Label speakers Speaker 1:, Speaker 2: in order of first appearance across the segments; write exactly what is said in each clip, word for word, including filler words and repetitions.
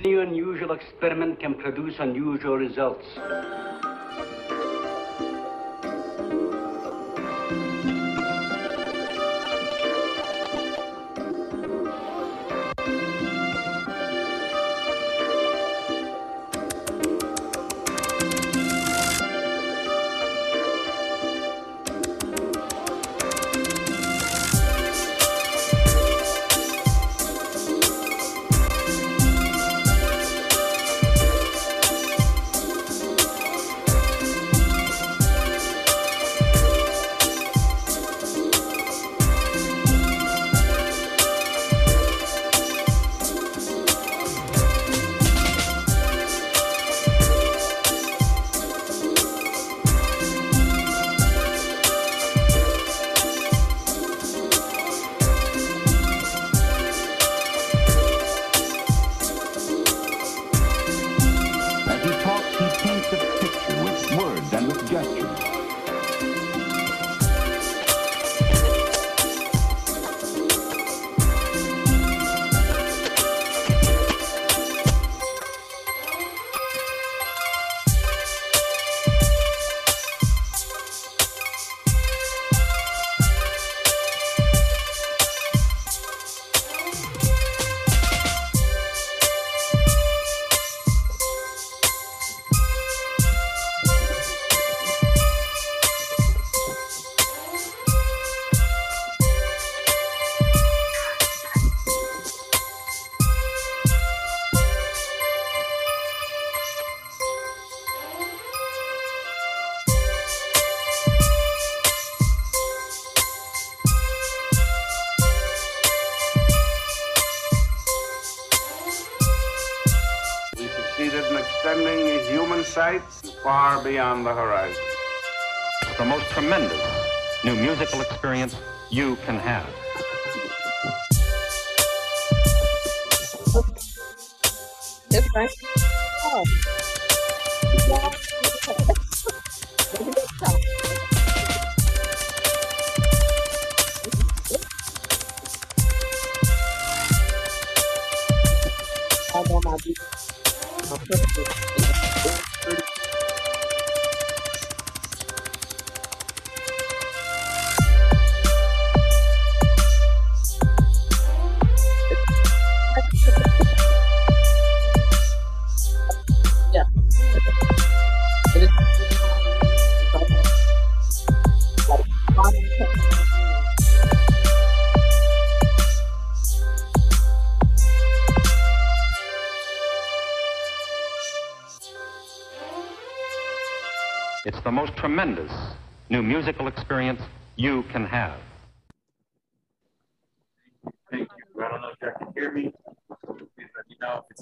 Speaker 1: Any unusual experiment can produce unusual results.
Speaker 2: Extending human sights far beyond the horizon.
Speaker 3: The most tremendous new musical experience you can have.
Speaker 4: That's right. Oh. I know my beat. Yeah.
Speaker 3: It's the most tremendous new musical experience you can have.
Speaker 5: Thank you. I don't know if y'all can hear me. Please let me know if it's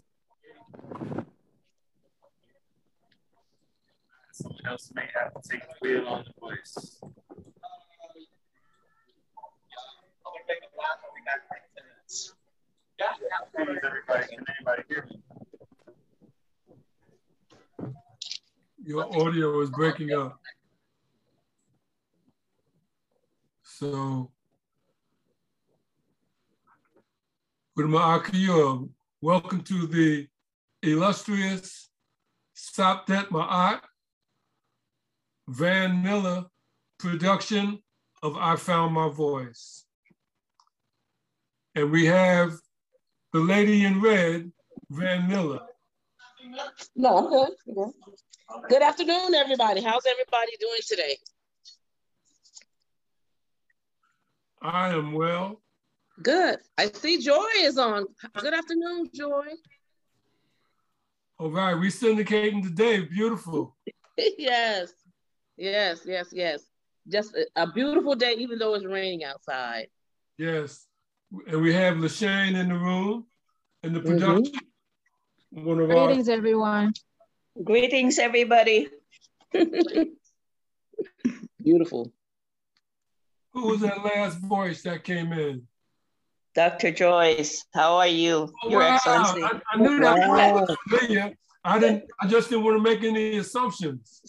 Speaker 5: someone else may have to take the wheel on the voice. Please, everybody, can anybody hear me?
Speaker 6: Your audio is breaking up. So, Gurma Akiyua, welcome to the illustrious Sapdet Ma'at Van Miller production of I Found My Voice. And we have the lady in red, Van Miller.
Speaker 4: No, I'm good. I'm good. Good afternoon, everybody. How's everybody doing today?
Speaker 6: I am well.
Speaker 4: Good. I see Joy is on. Good afternoon, Joy.
Speaker 6: All right, we syndicating today. Beautiful.
Speaker 4: Yes, yes, yes, yes. Just a, a beautiful day, even though it's raining outside.
Speaker 6: Yes. And we have LaShane in the room in the production. Mm-hmm. One of
Speaker 7: Greetings,
Speaker 6: our...
Speaker 7: everyone.
Speaker 8: Greetings, everybody.
Speaker 4: Beautiful.
Speaker 6: Who was that last voice that came in?
Speaker 8: Doctor Joyce, how are you,
Speaker 6: oh,
Speaker 8: Your
Speaker 6: wow.
Speaker 8: Excellency?
Speaker 6: I, I knew that
Speaker 4: wow.
Speaker 6: was familiar. I didn't. I just didn't want to make any assumptions.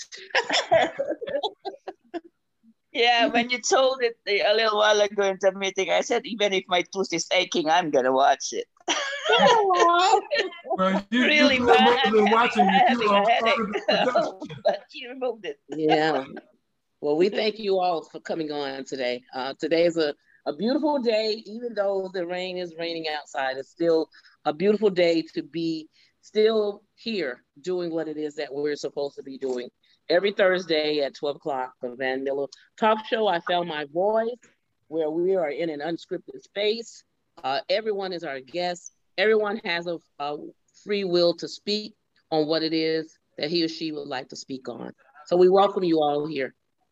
Speaker 8: Yeah, when you told it a little while ago in the meeting, I said, even if my tooth is aching, I'm gonna watch it.
Speaker 6: Well, you,
Speaker 8: really
Speaker 6: you
Speaker 8: bad.
Speaker 6: than watching
Speaker 8: I'm
Speaker 6: it.
Speaker 8: having
Speaker 6: You
Speaker 8: a
Speaker 6: are part
Speaker 8: headache,
Speaker 6: of the production.
Speaker 8: but she removed it.
Speaker 4: Yeah. Well, we thank you all for coming on today. Uh, today is a, a beautiful day, even though the rain is raining outside. It's still a beautiful day to be still here doing what it is that we're supposed to be doing. Every Thursday at twelve o'clock, the Van Miller Talk Show, I Found My Voice, where we are in an unscripted space. Uh, everyone is our guest. Everyone has a, a free will to speak on what it is that he or she would like to speak on. So we welcome you all here.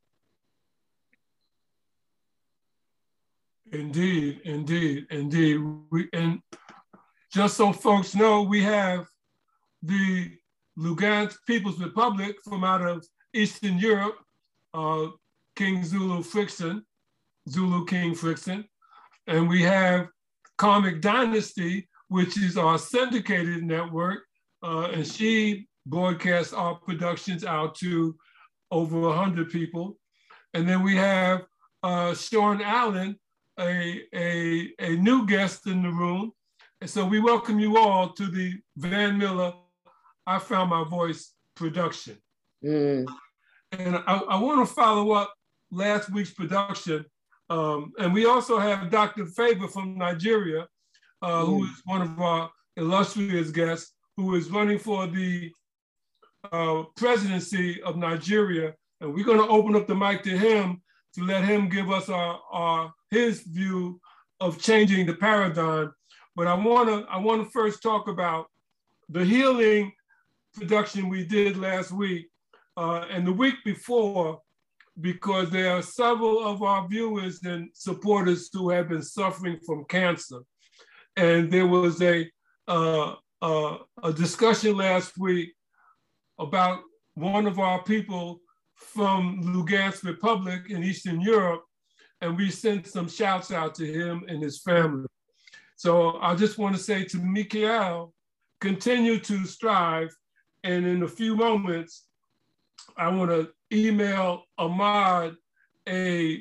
Speaker 6: Indeed, indeed, indeed. We, and just so folks know, we have the Lugansk People's Republic from out of Eastern Europe, uh, King Zulu Frickson, Zulu King Frickson. And we have Comic Dynasty, which is our syndicated network. Uh, and she broadcasts our productions out to over one hundred people. And then we have uh, Sean Allen, a, a, a new guest in the room. And so we welcome you all to the Van Miller I Found My Voice production.
Speaker 4: Mm.
Speaker 6: And I, I want to follow up last week's production. Um, and we also have Doctor Favor from Nigeria, uh, mm. who is one of our illustrious guests, who is running for the uh, presidency of Nigeria. And we're going to open up the mic to him to let him give us our, our his view of changing the paradigm. But I want to I want to first talk about the healing production we did last week uh, and the week before, because there are several of our viewers and supporters who have been suffering from cancer. And there was a, uh, uh, a discussion last week about one of our people from Lugansk Republic in Eastern Europe, and we sent some shouts out to him and his family. So I just want to say to Mikael, continue to strive. And in a few moments, I want to email Ahmad a,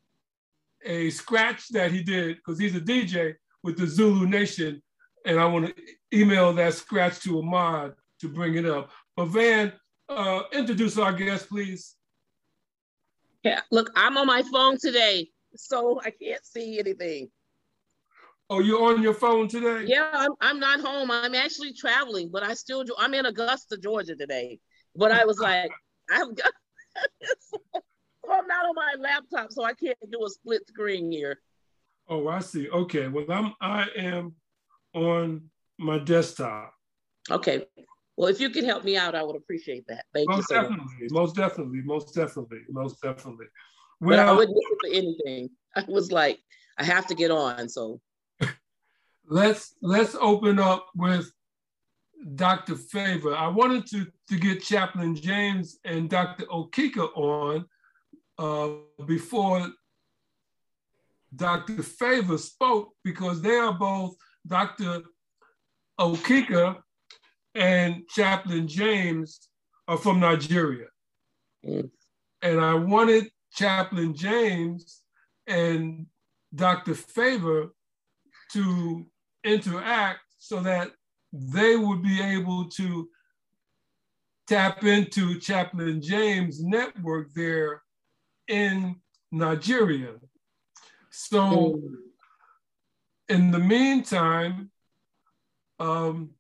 Speaker 6: a scratch that he did, because he's a D J with the Zulu Nation. And I want to email that scratch to Ahmad to bring it up. But Van, uh, introduce our guest, please.
Speaker 4: Yeah, look, I'm on my phone today, so I can't see anything.
Speaker 6: Oh, you're on your phone today?
Speaker 4: Yeah, I'm, I'm not home. I'm actually traveling, but I still do. I'm in Augusta, Georgia today. But I was like, I've got, so I'm not on my laptop, so I can't do a split screen here.
Speaker 6: Oh, I see. Okay, well, I'm, I am on my desktop.
Speaker 4: Okay. Well, if you could help me out, I would appreciate that. Thank
Speaker 6: most
Speaker 4: you so
Speaker 6: definitely,
Speaker 4: much.
Speaker 6: Most definitely, most definitely, most definitely.
Speaker 4: Well, but I wouldn't
Speaker 6: listen
Speaker 4: for anything. I was like, I have to get on, so.
Speaker 6: let's let's open up with Doctor Favor. I wanted to, to get Chaplain James and Doctor Okika on uh, before Doctor Favor spoke, because they are both, Doctor Okika and Chaplain James are from Nigeria.
Speaker 4: Mm.
Speaker 6: And I wanted Chaplain James and Doctor Favor to interact so that they would be able to tap into Chaplain James' network there in Nigeria. So mm. in the meantime, um,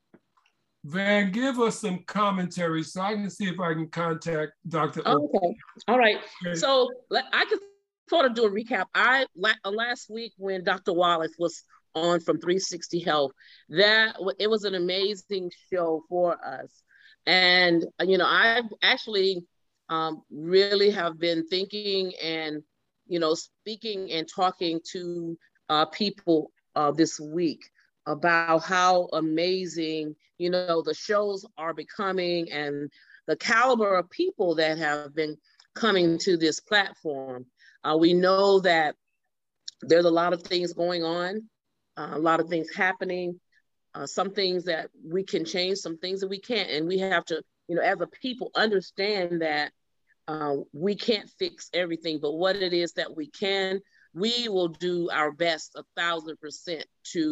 Speaker 6: Van, give us some commentary so I can see if I can contact Doctor
Speaker 4: Okay, all right. Okay. So I could sort of do a recap. I last week when Doctor Wallace was on from three sixty Health, that it was an amazing show for us. And, you know, I actually um, really have been thinking and, you know, speaking and talking to uh, people uh, this week about how amazing, you know, the shows are becoming and the caliber of people that have been coming to this platform. Uh, we know that there's a lot of things going on, uh, a lot of things happening, uh, some things that we can change, some things that we can't. And we have to, you know, as a people, understand that uh, we can't fix everything, but what it is that we can, we will do our best a thousand percent to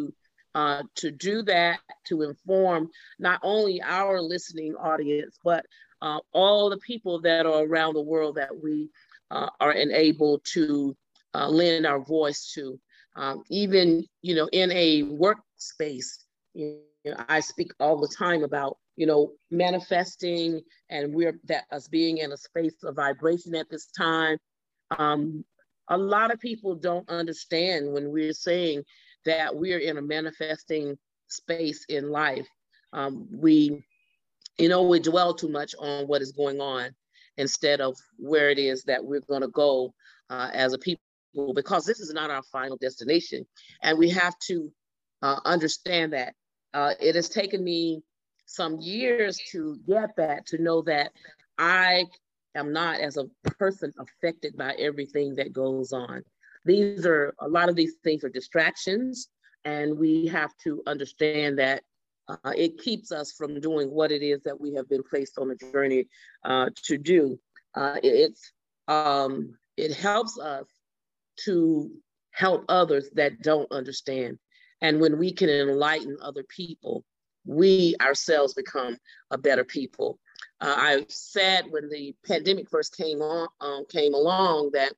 Speaker 4: uh, to do that, to inform not only our listening audience, but uh, all the people that are around the world that we uh, are enabled to uh, lend our voice to. Um, even, you know, in a workspace, you know, I speak all the time about, you know, manifesting, and we're that us being in a space of vibration at this time. Um, a lot of people don't understand when we're saying that we're in a manifesting space in life. Um, we, you know, we dwell too much on what is going on instead of where it is that we're going to go uh, as a people, because this is not our final destination. And we have to uh, understand that. Uh, it has taken me some years to get that, to know that I am not, as a person, affected by everything that goes on. These are, a lot of these things are distractions, and we have to understand that uh, it keeps us from doing what it is that we have been placed on a journey uh, to do. Uh, it's, um, it helps us to help others that don't understand. And when we can enlighten other people, we ourselves become a better people. Uh, I said when the pandemic first came on, um, came along, that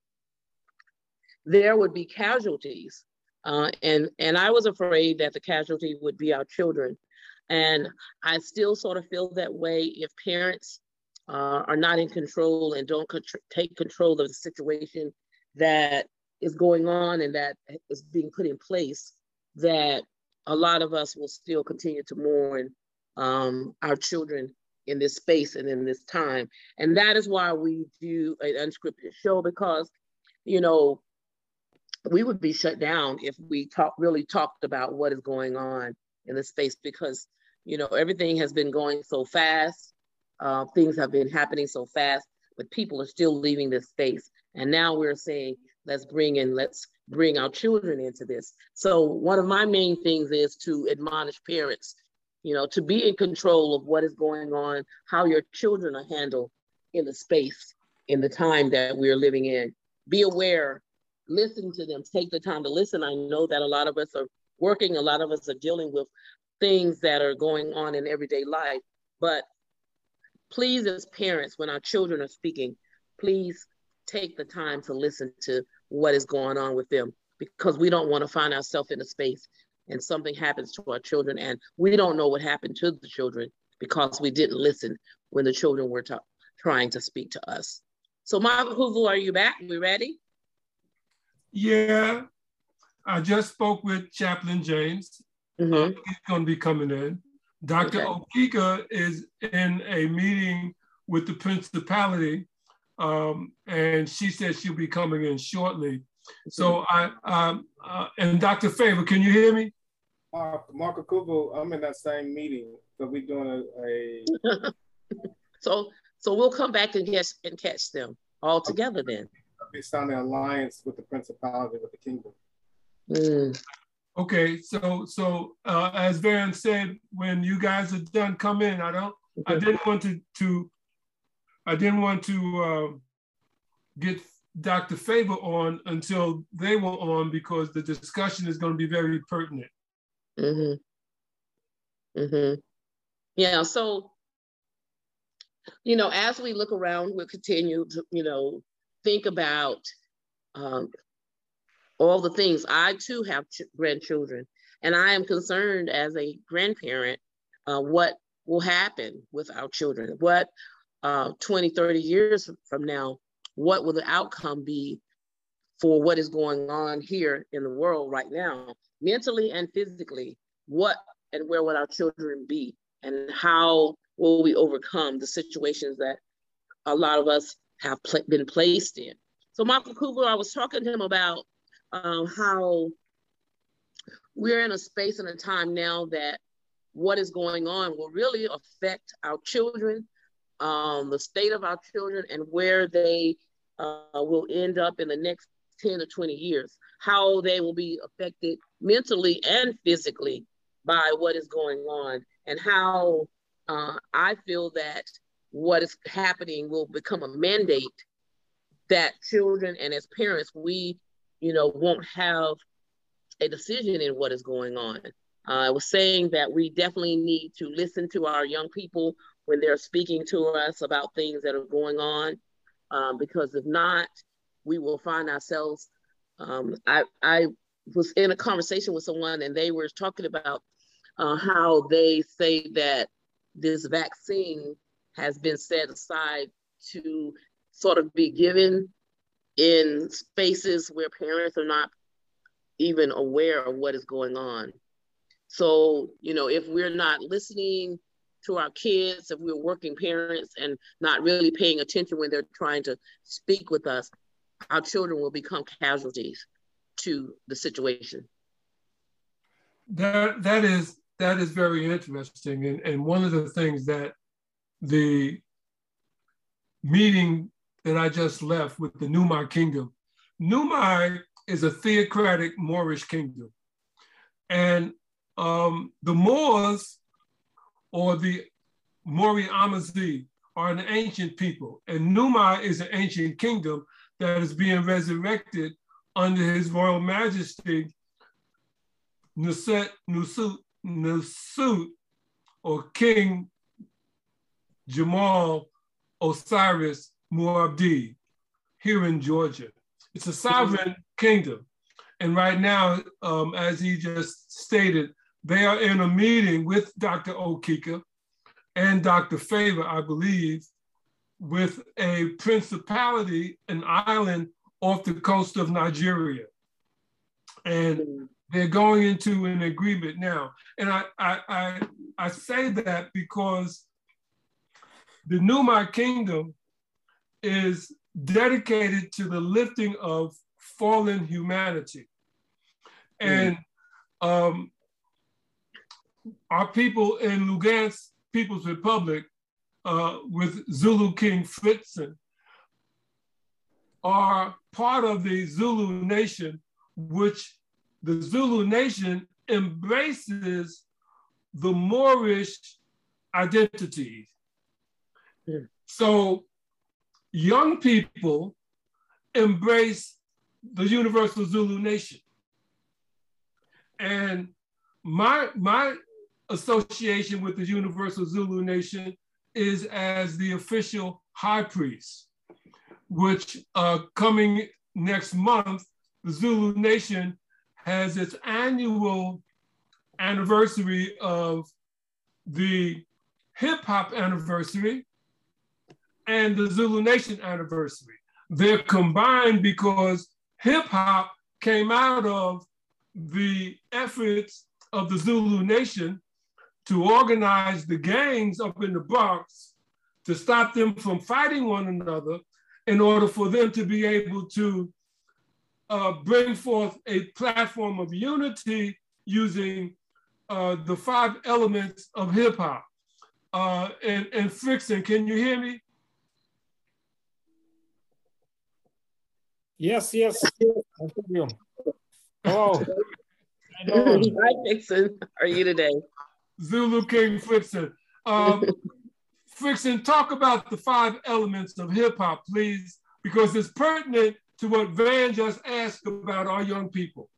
Speaker 4: there would be casualties. Uh, and, and I was afraid that the casualty would be our children. And I still sort of feel that way. If parents uh, are not in control and don't con- take control of the situation that is going on and that is being put in place, that a lot of us will still continue to mourn um, our children in this space and in this time. And that is why we do an unscripted show, because, you know, we would be shut down if we talk, really talked about what is going on in the space, because, you know, everything has been going so fast. Uh, things have been happening so fast, but people are still leaving this space. And now we're saying, let's bring in, let's bring our children into this. So one of my main things is to admonish parents, you know, to be in control of what is going on, how your children are handled in the space, in the time that we're living in. Be aware, listen to them, take the time to listen. I know that a lot of us are working, a lot of us are dealing with things that are going on in everyday life, but please, as parents, when our children are speaking, please take the time to listen to what is going on with them, because we don't want to find ourselves in a space and something happens to our children and we don't know what happened to the children because we didn't listen when the children were ta- trying to speak to us. So Michael Hoover, are you back? We ready?
Speaker 6: Yeah, I just spoke with Chaplain James.
Speaker 4: Mm-hmm.
Speaker 6: Uh, he's going to be coming in. Doctor
Speaker 4: Okay.
Speaker 6: Okika is in a meeting with the principality, um, and she said she'll be coming in shortly. Mm-hmm. So I, um, uh, and Doctor Favor, can you hear me?
Speaker 5: Uh, Marco Kubo, I'm in that same meeting, so we're doing a. a...
Speaker 4: so, so we'll come back and catch and catch them all together then.
Speaker 5: I'll be signing an alliance with the principality, with the kingdom.
Speaker 4: Mm.
Speaker 6: Okay, so so uh, as Van said, when you guys are done, come in. I don't. I didn't want to to. I didn't want to uh, get Doctor Favor on until they were on, because the discussion is going to be very pertinent.
Speaker 4: Mm-hmm. Mm-hmm. Yeah. So, you know, as we look around, we'll continue to, you know, think about. Um, all the things. I too have ch- grandchildren, and I am concerned as a grandparent uh, what will happen with our children. What uh, twenty, thirty years from now, what will the outcome be for what is going on here in the world right now, mentally and physically? What and where will our children be? And how will we overcome the situations that a lot of us have pl- been placed in? So Michael Kugler, I was talking to him about Um, how we're in a space and a time now that what is going on will really affect our children, um, the state of our children, and where they uh, will end up in the next ten to twenty years, how they will be affected mentally and physically by what is going on, and how uh, I feel that what is happening will become a mandate that children and as parents, we you know, won't have a decision in what is going on. uh, I was saying that we definitely need to listen to our young people when they're speaking to us about things that are going on, um, because if not, we will find ourselves. Um, I, I was in a conversation with someone and they were talking about uh, how they say that this vaccine has been set aside to sort of be given in spaces where parents are not even aware of what is going on. So, you know, if we're not listening to our kids, if we're working parents and not really paying attention when they're trying to speak with us, our children will become casualties to the situation.
Speaker 6: That, that is that is very interesting. And, and one of the things that the meeting that I just left with the Numai Kingdom, Numai is a theocratic Moorish kingdom. And um, the Moors, or the Mori Amazi, are an ancient people. And Numai is an ancient kingdom that is being resurrected under His Royal Majesty, Nusut, Nusut, Nusut, or King Jamal Osiris Muabdi, here in Georgia. It's a sovereign kingdom. And right now, um, as he just stated, they are in a meeting with Doctor Okika and Doctor Favor, I believe, with a principality, an island off the coast of Nigeria. And they're going into an agreement now. And I, I, I, I say that because the Numai Kingdom is dedicated to the lifting of fallen humanity. And um, our people in Lugansk People's Republic, uh, with Zulu King Fritzen, are part of the Zulu nation, which the Zulu nation embraces the Moorish identity. Yeah. So young people embrace the universal Zulu nation. And my, my association with the universal Zulu nation is as the official high priest, which uh, coming next month, the Zulu nation has its annual anniversary of the hip hop anniversary and the Zulu Nation anniversary. They're combined because hip hop came out of the efforts of the Zulu Nation to organize the gangs up in the Bronx to stop them from fighting one another in order for them to be able to uh, bring forth a platform of unity using uh, the five elements of hip hop. Uh, and, and Fritzen, can you hear me?
Speaker 7: Yes, yes, I hear you. Oh,
Speaker 4: hi, Fritzen. How are you today?
Speaker 6: Zulu King Fritzen. Um, Fritzen, talk about the five elements of hip hop, please, because it's pertinent to what Van just asked about our young people.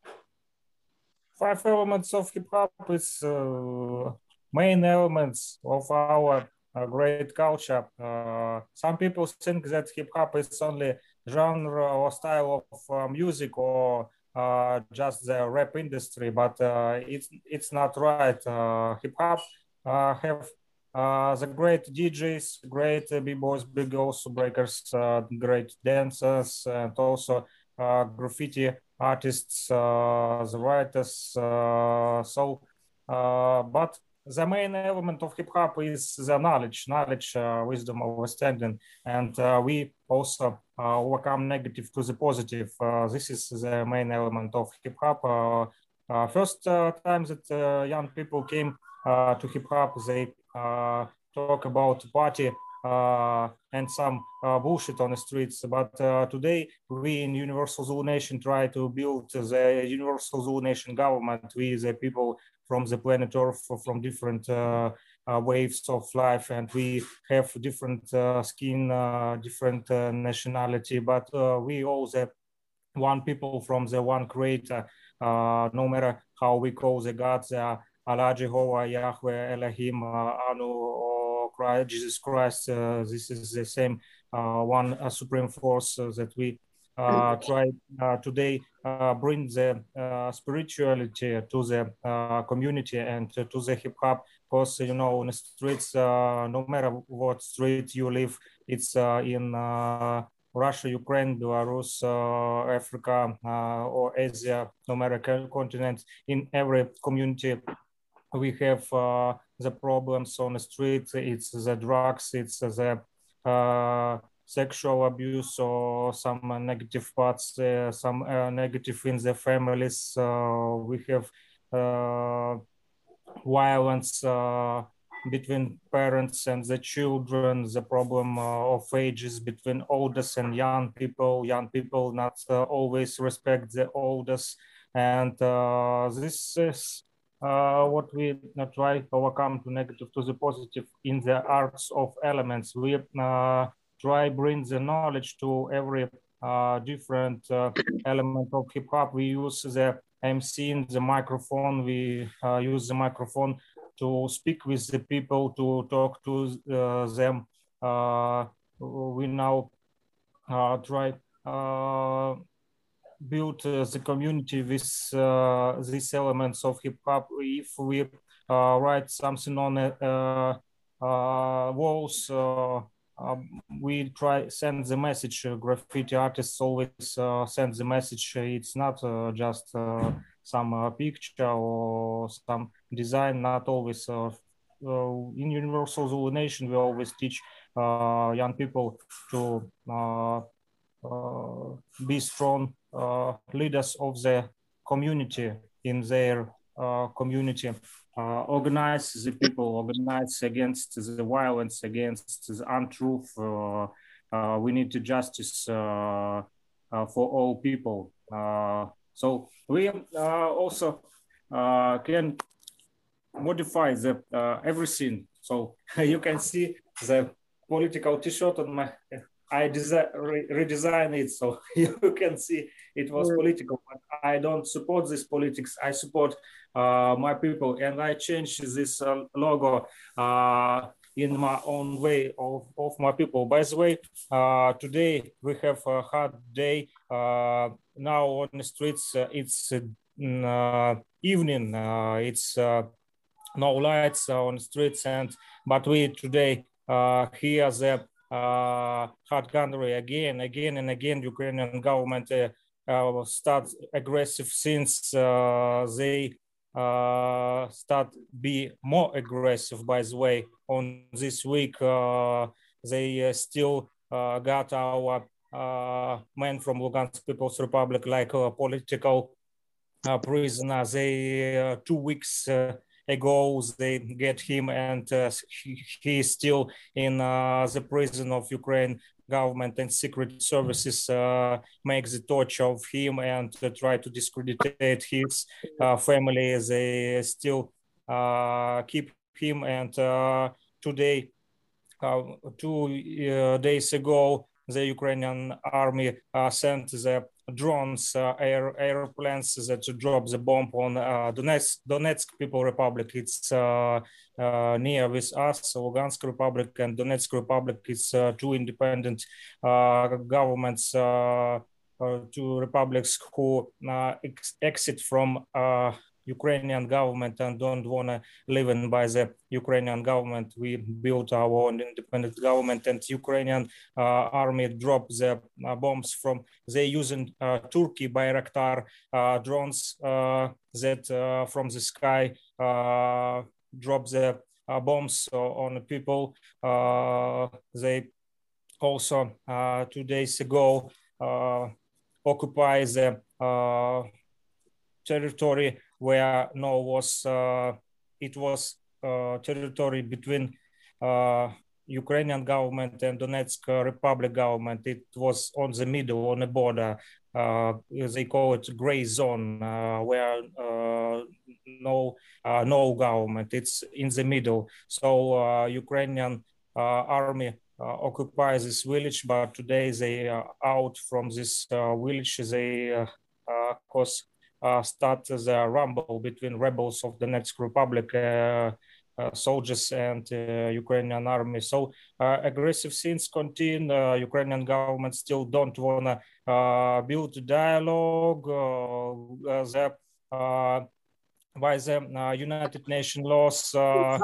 Speaker 7: Five elements of hip hop is uh, main elements of our uh, great culture. Uh, some people think that hip hop is only genre or style of uh, music or uh, just the rap industry, but uh, it's it's not right. Uh, hip hop uh, have uh, the great D Js, great uh, b-boys, big girls, breakers, uh, great dancers, and also uh, graffiti artists, uh, the writers. Uh, so, uh, but the main element of hip hop is the knowledge, knowledge, uh, wisdom, understanding, and uh, we also uh, overcome negative to the positive. Uh, this is the main element of hip hop. Uh, uh, first uh, time that uh, young people came uh, to hip hop, they uh, talk about party uh, and some uh, bullshit on the streets. But uh, today, we in Universal Zulu Nation try to build the Universal Zulu Nation government. We, the people from the planet Earth, from different uh, uh, waves of life, and we have different uh, skin, uh, different uh, nationality, but uh, we all the one people from the one creator, uh, no matter how we call the gods, uh, Allah, Jehovah, Yahweh, Elohim, uh, Anu, or Christ, Jesus Christ. Uh, this is the same uh, one uh, supreme force uh, that we uh, try uh, today uh, bring the uh, spirituality to the uh, community and to, to the hip hop. Because you know, in the streets, uh, no matter what street you live, it's uh, in uh, Russia, Ukraine, Belarus, uh, Africa, uh, or Asia, no matter continent, in every community, we have uh, the problems on the street. It's the drugs, it's the uh, sexual abuse, or some uh, negative parts, uh, some uh, negative in the families. Uh, we have uh, violence uh, between parents and the children, the problem uh, of ages between oldest and young people, young people not uh, always respect the oldest. And uh, this is uh, what we uh, try to overcome to negative to the positive in the arts of elements. We uh, try bring the knowledge to every uh, different uh, element of hip hop. We use the M C in the microphone. We uh, use the microphone to speak with the people, to talk to uh, them. Uh, we now uh, try uh, build uh, the community with uh, these elements of hip hop. If we uh, write something on uh, uh, walls, uh, uh, we try send the message. Uh, graffiti artists always uh, send the message. It's not uh, just uh, some uh, picture or some design. Not always. Uh, uh, in Universal Zulu Nation, we always teach uh, young people to uh, uh, be strong uh, leaders of the community in their uh, community. Uh, organize the people, organize against the violence, against the untruth. Uh, uh, we need justice uh, uh, for all people. Uh, so we uh, also uh, can modify the uh, everything. So you can see the political T-shirt on my. I desi- re- redesign it so you can see it was political, but I don't support this politics. I support uh, my people, and I changed this uh, logo uh, in my own way of, of my people. By the way, uh, today we have a hot day. Uh, now on the streets, uh, it's uh, evening. Uh, it's uh, no lights on the streets, and but we today uh, hear the Uh, hard country again, again and again. Ukrainian government uh, uh, start aggressive since uh, they uh, start be more aggressive. By the way, on this week uh, they uh, still uh, got our uh, man from Lugansk People's Republic like a political uh, prisoner. They uh, two weeks. Uh, ago they get him, and uh, he, he is still in uh, the prison of Ukraine government, and secret services uh, make the torture of him and uh, try to discredit his uh, family. They still uh, keep him, and uh, today, uh, two uh, days ago, the Ukrainian army uh, sent the drones, uh, air airplanes that drop the bomb on uh, Donetsk, Donetsk People Republic. It's uh, uh, near with us, Lugansk Republic and Donetsk Republic. It's uh, two independent uh, governments, uh, uh, two republics who uh, ex exit from uh, Ukrainian government and don't want to live in by the Ukrainian government. We built our own independent government, and Ukrainian uh, army dropped the uh, bombs from, they using uh, Turkey Bayraktar uh, drones uh, that uh, from the sky uh, drop the uh, bombs on the people. Uh, they also uh, two days ago uh, occupy the uh, territory where no was uh, it was uh, territory between uh, Ukrainian government and Donetsk Republic government. It was on the middle, on the border. Uh, they call it gray zone, uh, where uh, no uh, no government. It's in the middle. So uh, Ukrainian uh, army occupy this village, but today they are out from this village. They, of course, start the rumble between rebels of the Donetsk Republic, uh, uh, soldiers and uh, Ukrainian army. So uh, aggressive things continue. Uh, Ukrainian government still don't want to uh, build dialogue. Uh, the, uh, by the uh, United Nations laws, uh,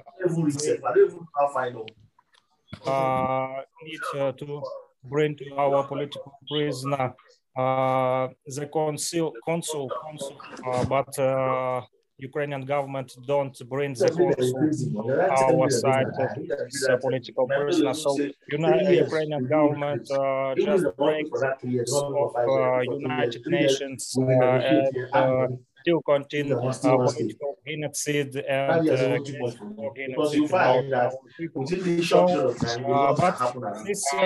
Speaker 7: uh, need uh, to bring to our political prisoner uh, the consul, consul, consul uh, but uh, Ukrainian government don't bring the consul our side of this uh, political prisoner. So United, Ukrainian government uh, just breaks of uh, United Nations uh, and uh, still continue uh, political genocide and uh, genocide about our people. So, uh, but this uh,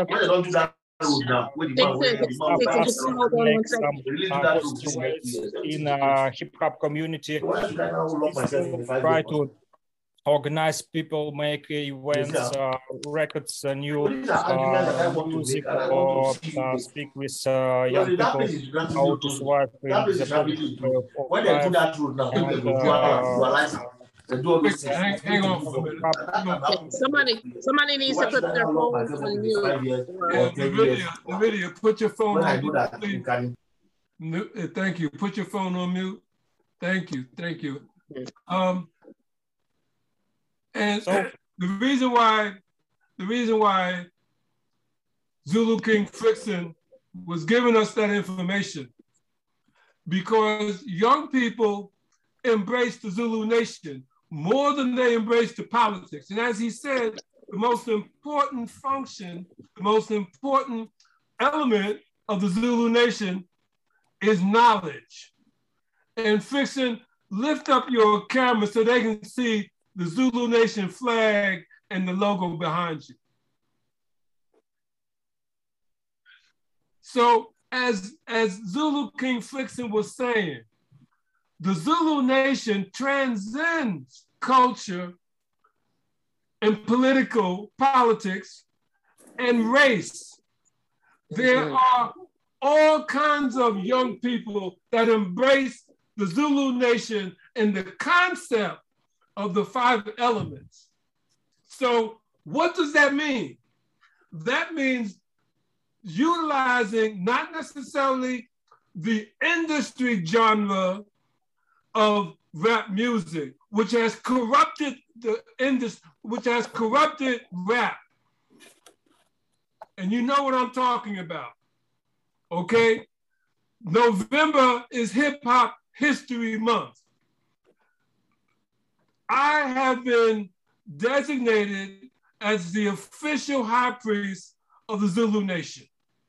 Speaker 7: in uh, hip hop community, try to organize people, make events, uh, records, uh, new uh, music, or uh, speak with uh, young people how to survive in the political
Speaker 6: Hang, hang on for a minute.
Speaker 4: Somebody, somebody needs to put their phone on mute.
Speaker 6: Yeah, the video, the video, put your phone on mute, please. Thank you. Put your phone on mute. Thank you. Thank you. Um, and so, the reason why, the reason why Zulu King Frickson was giving us that information, because young people embrace the Zulu nation more than they embrace the politics. And as he said, the most important function, the most important element of the Zulu nation is knowledge. And Frickson, lift up your camera so they can see the Zulu Nation flag and the logo behind you. So as, as Zulu King Frickson was saying, the Zulu Nation transcends culture and political politics and race. There are all kinds of young people that embrace the Zulu Nation and the concept of the five elements. So what does that mean? That means utilizing not necessarily the industry genre of rap music, which has corrupted the industry, which has corrupted rap. And you know what I'm talking about, okay? November is Hip Hop History Month. I have been designated as the official high priest of the Zulu Nation.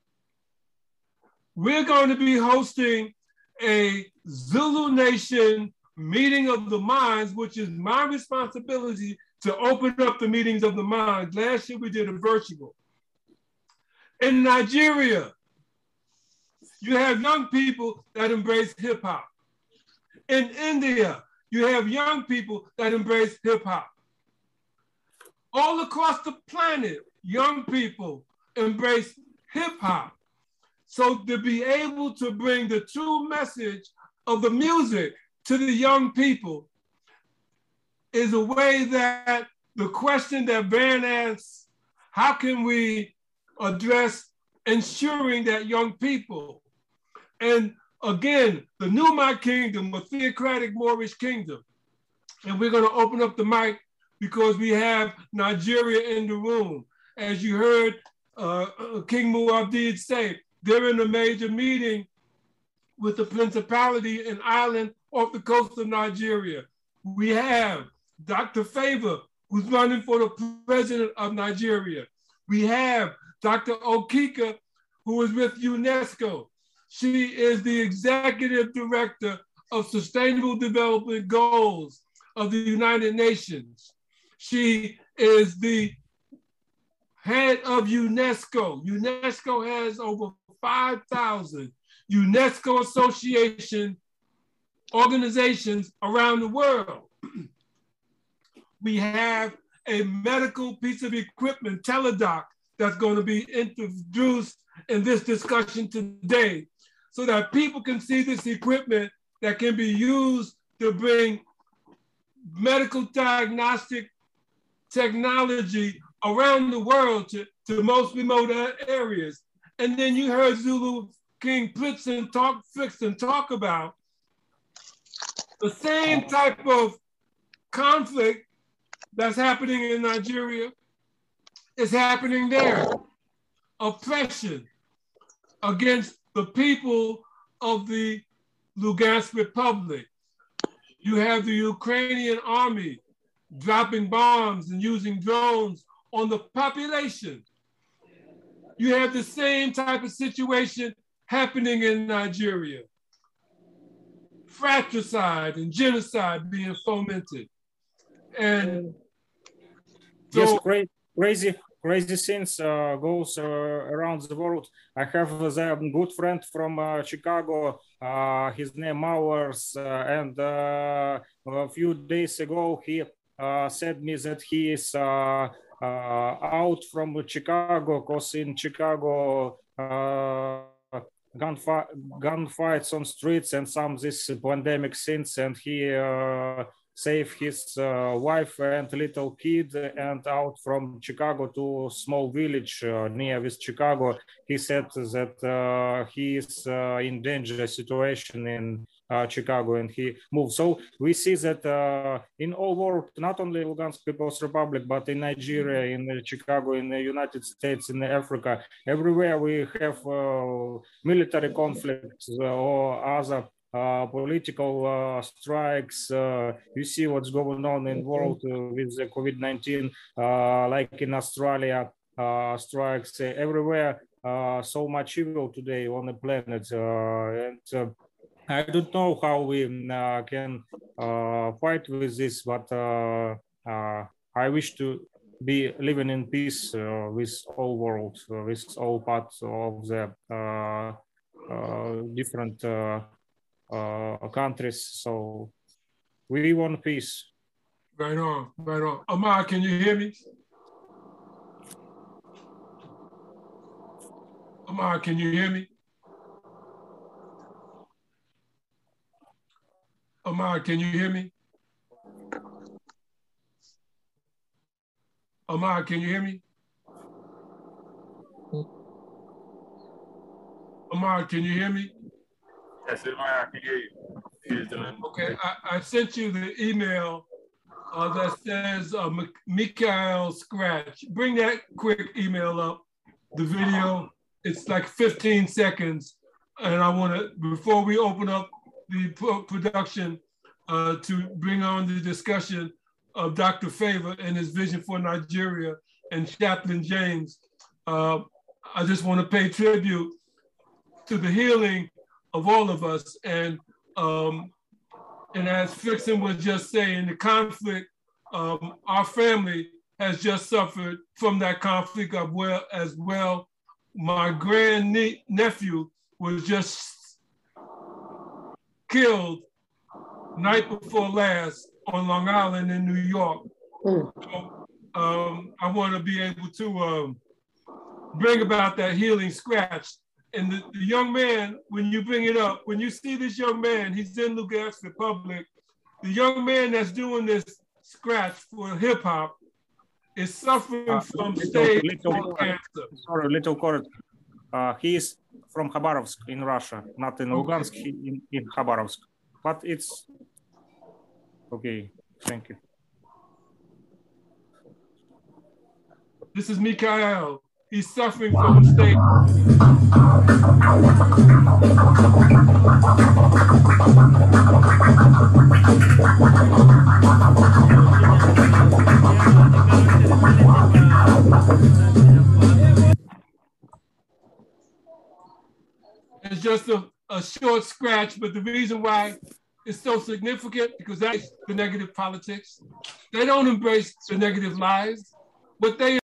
Speaker 6: We're going to be hosting a Zulu Nation meeting of the minds, which is my responsibility to open up the meetings of the minds. Last year we did a virtual. In Nigeria, you have young people that embrace hip hop. In India, you have young people that embrace hip hop. All across the planet, young people embrace hip hop. So to be able to bring the true message of the music to the young people is a way that the question that Van asks, how can we address ensuring that young people, and again, the Numat Kingdom, a theocratic Moorish kingdom, and we're gonna open up the mic because we have Nigeria in the room. As you heard uh, King Muad'Dib say, they're in a major meeting with the principality and island off the coast of Nigeria. We have Doctor Favor, who's running for the president of Nigeria. We have Doctor Okika, who is with UNESCO. She is the executive director of Sustainable Development Goals of the United Nations. She is the head of UNESCO. UNESCO has over five thousand UNESCO association organizations around the world. We have a medical piece of equipment, teledoc, that's going to be introduced in this discussion today, so that people can see this equipment that can be used to bring medical diagnostic technology around the world to, to most remote areas. And then you heard Zulu King Plitzen talk, Frickson talk about the same type of conflict that's happening in Nigeria is happening there. Oppression against the people of the Lugansk Republic. You have the Ukrainian army dropping bombs and using drones on the population. You have the same type of situation happening in Nigeria. Fratricide and genocide being fomented. And so,
Speaker 7: yes, great, crazy, crazy things uh, goes uh, around the world. I have a good friend from uh, Chicago. Uh, his name Mowers, uh, and uh, a few days ago he uh, said me that he is uh, uh, out from Chicago because in Chicago uh, gunfight, gunfights on streets and some this pandemic things, and he uh, saved his uh, wife and little kid and out from Chicago to a small village uh, near with Chicago. He said that uh, he is uh, in dangerous situation in uh, Chicago and he moved. So we see that uh, in all world, not only Lugansk People's Republic, but in Nigeria, in Chicago, in the United States, in Africa, everywhere we have uh, military conflicts or other Uh, political uh, strikes. Uh, you see what's going on in the world uh, with the COVID nineteen, uh, like in Australia, uh, strikes uh, everywhere. Uh, so much evil today on the planet. Uh, and uh, I don't know how we uh, can uh, fight with this, but uh, uh, I wish to be living in peace uh, with all world, uh, with all parts of the uh, uh, different uh, uh countries. So we want peace.
Speaker 6: Right on, right on. Amar, can you hear me? Amar, can you hear me? Amar, can you hear me? Amar, can you hear me? Amar, can you hear me?
Speaker 5: Yes, I can hear you.
Speaker 6: Okay, I, I sent you the email uh, that says uh, Mikhail Scratch. Bring that quick email up, the video. It's like fifteen seconds. And I want to, before we open up the production uh, to bring on the discussion of Doctor Favor and his vision for Nigeria and Chaplain James, uh, I just want to pay tribute to the healing of all of us. And um, and as Frickson was just saying, the conflict, um, our family has just suffered from that conflict as well. As well. My grand nephew was just killed night before last on Long Island in New York. Mm. So, um, I want to be able to um, bring about that healing scratch. And the, the young man, when you bring it up, when you see this young man, he's in Lugansk Republic, the young man that's doing this scratch for hip hop is suffering uh, from little, stage little, four cancer.
Speaker 7: Sorry, little correct. Uh, he is from Khabarovsk in Russia, not in Lugansk, okay. in, in Khabarovsk. But it's okay. Thank you.
Speaker 6: This is Mikhail. He's suffering from stage. It's just a, a short scratch, but the reason why it's so significant because that's the negative politics. They don't embrace the negative lies, but they